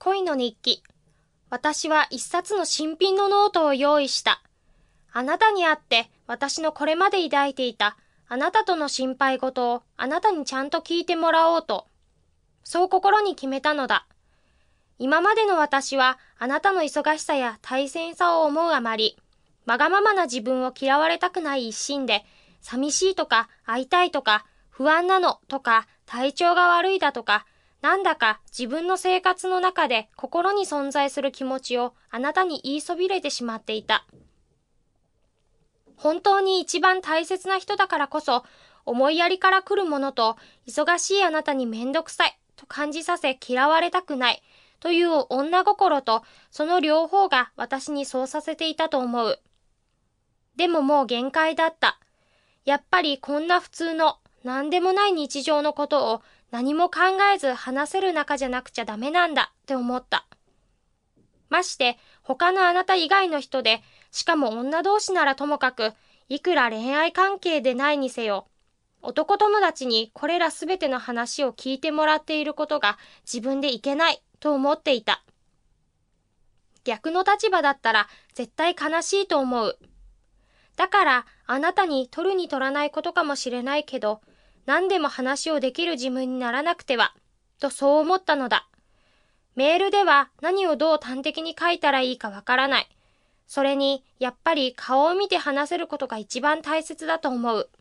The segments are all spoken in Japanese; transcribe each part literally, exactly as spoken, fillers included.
恋の日記。私は一冊の新品のノートを用意した。あなたに会って私のこれまで抱いていたあなたとの心配事をあなたにちゃんと聞いてもらおうと。そう心に決めたのだ。今までの私はあなたの忙しさや大変さを思うあまり、わがままな自分を嫌われたくない一心で、寂しいとか会いたいとか不安なのとか体調が悪いだとか、なんだか自分の生活の中で心に存在する気持ちをあなたに言いそびれてしまっていた。本当に一番大切な人だからこそ、思いやりから来るものと、忙しいあなたにめんどくさいと感じさせ嫌われたくないという女心と、その両方が私にそうさせていたと思う。でももう限界だった。やっぱりこんな普通の何でもない日常のことを何も考えず話せる仲じゃなくちゃダメなんだって思った。まして他のあなた以外の人で、しかも女同士ならともかく、いくら恋愛関係でないにせよ、男友達にこれらすべての話を聞いてもらっていることが自分でいけないと思っていた。逆の立場だったら絶対悲しいと思う。だからあなたに取るに取らないことかもしれないけど、何でも話をできる自分にならなくては、とそう思ったのだ。メールでは何をどう端的に書いたらいいかわからない。それに、やっぱり顔を見て話せることが一番大切だと思う。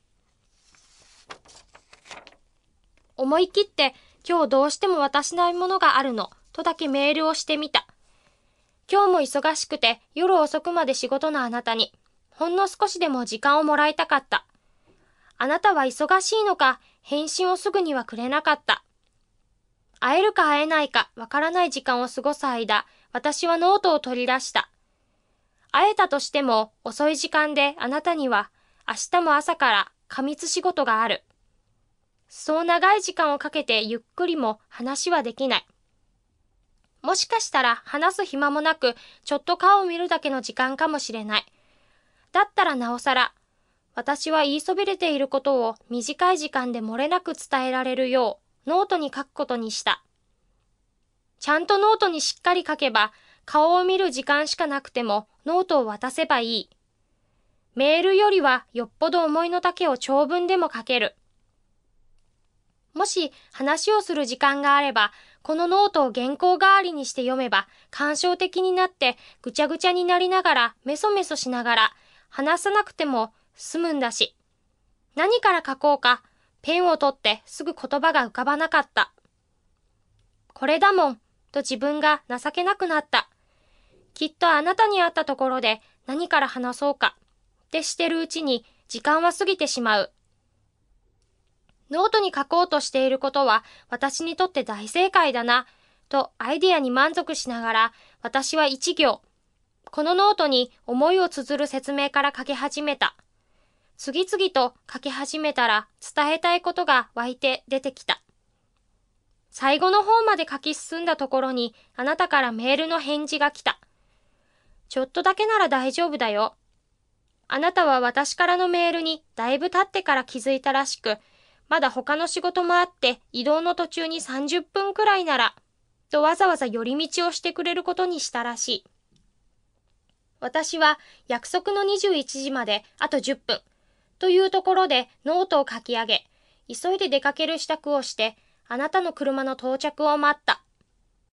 思い切って、今日どうしても渡しないものがあるの、とだけメールをしてみた。今日も忙しくて夜遅くまで仕事のあなたに、ほんの少しでも時間をもらいたかった。あなたは忙しいのか、返信をすぐにはくれなかった。会えるか会えないかわからない時間を過ごす間、私はノートを取り出した。会えたとしても遅い時間であなたには明日も朝から過密仕事がある。そう長い時間をかけてゆっくりも話はできない。もしかしたら話す暇もなくちょっと顔を見るだけの時間かもしれない。だったらなおさら、私は言いそびれていることを短い時間で漏れなく伝えられるようノートに書くことにした。ちゃんとノートにしっかり書けば顔を見る時間しかなくてもノートを渡せばいい。メールよりはよっぽど思いの丈を長文でも書ける。もし話をする時間があれば、このノートを原稿代わりにして読めば感傷的になってぐちゃぐちゃになりながらメソメソしながら話さなくても済むんだし。何から書こうか、ペンを取ってすぐ言葉が浮かばなかった。これだもん、と自分が情けなくなった。きっとあなたに会ったところで何から話そうか、ってしてるうちに時間は過ぎてしまう。ノートに書こうとしていることは私にとって大正解だな、とアイデアに満足しながら私は一行、このノートに思いを綴る説明から書き始めた。次々と書き始めたら伝えたいことが湧いて出てきた。最後の方まで書き進んだところにあなたからメールの返事が来た。ちょっとだけなら大丈夫だよ。あなたは私からのメールにだいぶ経ってから気づいたらしく、まだ他の仕事もあって移動の途中にさんじゅっぷんくらいなら、とわざわざ寄り道をしてくれることにしたらしい。私は約束のにじゅういちじまであとじゅっぷんというところでノートを書き上げ、急いで出かける支度をして、あなたの車の到着を待った。